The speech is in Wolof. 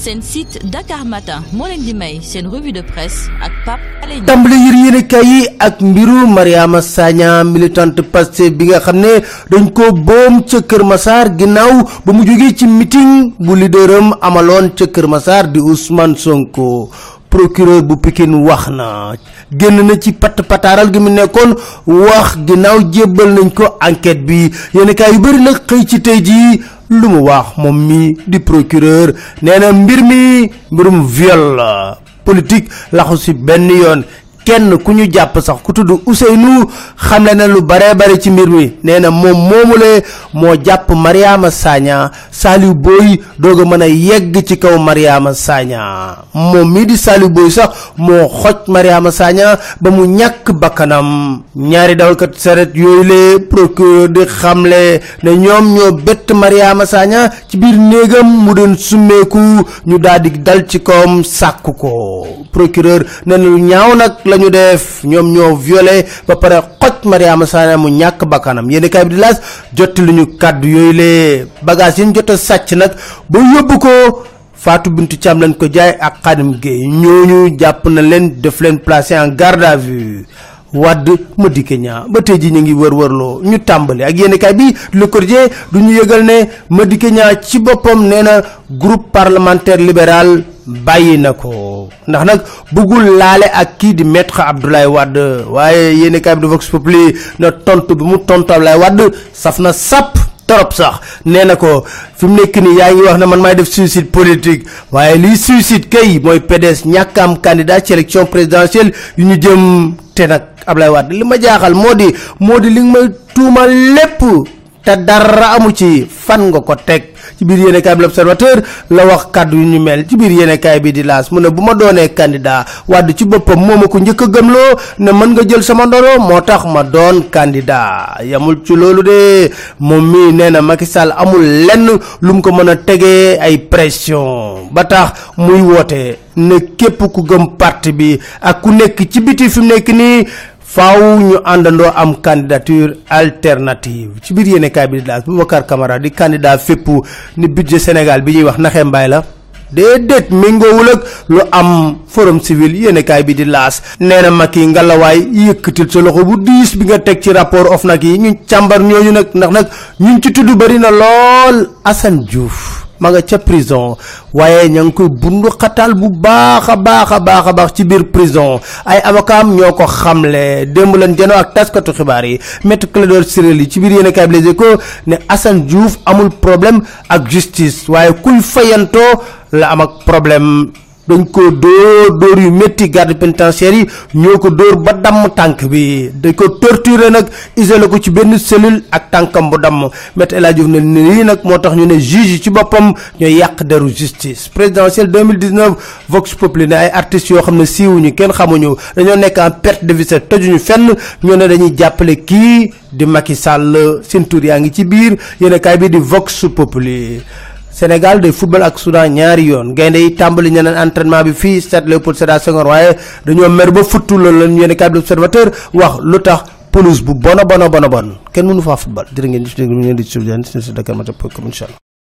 seen site Dakar Matin moo leen di may seen revue de presse ak Pape Alé Niang. tàmbali yéenekaay yi ak mbiru Mariama Sagna militante Pastef bi nga xam ne dañ ko boom ca Kër Massar ginnaaw ba mu jógee ci meeting bu leaderam amaloon ca Kër Massar di Ousmane Sonko. procureur bu Pikine wax na génn na ci pataaral gi mu nekkoon wax ginnaaw jébbal nañ ko enquête bi yéenekaay yu bari nag xëy ci tey jii lu mu wax moom mi di procureur nee na mbirum viol la politique laxu si benn yoon kenn ku ñu jàpp sax ku tudd Ousseynou xamle na lu bare ci mbir mi nee na moom moomule moo jàpp Mariama Sagna Saliou Boy doog a mën a yegg ci kaw Mariama Sagna moom mii di Saliou Boy sax moo xoj Mariama Sagna ba mu ñàkk bakkanam ñaari dawalkat saret yooyu le procureur di xamle ne ñoom ñoo bett Mariama Sagna ci biir néegam mu doon summeeku ñu daal di dal ci kawam sàkku ko procureur nee na lu ñaaw nag ñu def ñoom ñoo violé ba pare xoj Mariama Sagna mu ñàkk bakkanam yéen kay bi di laas jotti lu ñu kàddu yooyu le bagage yi ñu jot a sàcc nag ba yóbbu ko Fatou Bintou Thiam lañ ko jaay ak Khadim Gueye ñooñu jàpp na leen def leen placé en garde à vue Wade Madické Niang ba tey ji ñu ngi wërloo ñu tàmbali ak yéen kay bi Le Quotidien du ñu yëgal ne Madické Niang ci boppam nee na groupe parlementaire libéral bàyyi na ko ndax nag bëggul laale ak kii di maître Abdoulaye Wade waaye yéeni kaay bi di Vox Populi na tontu bi mu tontu Abdoulaye Wade saf na sàpp torop sax nee na ko fi mu nekk nii yaa ngi wax ne man maay def suicide politique waaye liy suicide kay mooy PDS ñàkk am candidat ci élection présidentielle yu ñu jëm te nag Abdoulaye Wade li ma jaaxal moo di li nga may tuumal lépp te dara amu ci fan nga ko teg ci biir yéenekaay bi L'Observateur la wax kàddu yu ñu mel ci biir yéenekaay bi di laas mu ne bu ma doonee candidat Wade ci boppam moo ma ko njëkk a gëmloo ne mën nga jël sama ndono moo tax ma doon candidat yamul ci loolu de moom mii nee na Macky Sall amul lenn lu mu ko mën a tegee ay pression ba tax muy woote ne képp ku gëm parti bi ak ku nekk ci biti fi mu nekk nii faaw ñu àndandoo am candidature alternative ci biir yéenekaay bi di laas Boubacar Camara di candidat fépp ni budget Sénégal bi ñuy wax naxee mbaay la déedéet méngoowul ak lu am forum civil yéenekaay bi di laas nee na Macky ngalawaay yëkkatil sa loxo bu diis bi nga teg ci rapport OFNAC yi ñu càmbar ñooñu nag ndax nag ñun ci tudd bari na lool Assane Diouf ma nga ca prison waaye ña ngi koy bundu xatal bu baax a baax ci biir prison ay avocat am ñoo ko xamle démb leen janoo ak taskatu xibaar yi maître Clédor Ciré Ly ci biir yéenekaay bi Les Échos ne Assane Diouf amul problème ak justice waaye kuy fayantoo la am ak problème dañ ko dóor yu métti garde pénitentiaire yi ñoo ko dóor ba damm tànk bi dañ ko torturer nag isolé ko ci benn cellule ak tànkam bu damm Maître El Hadji Diouf ne lii nag moo tax ñu ne juge yi ci boppam ñooy yàq deru justice présidentielle 2019 Vox Populi ne ay artistes yoo xam ne siiwuñu kenn xamuñu dañoo nekk en perte de vue tojuñu fenn ñoo ne dañuy jàppale kii di Macky Sall seen tur yaa ngi ci biir yéen kaay bi di Vox Populi Sénégal day football ak Soudan ñaari yoon gaynde yi tàmbali ñeneen entraînement bi fii stade Léopold Sédar Senghor waaye dañoo mer ba futtu loolu la ñu yéen kàddu Observateur wax lu tax pelouse bu bon kenn mënu faa football jërë ngeen di Dakar Matin.com incha allah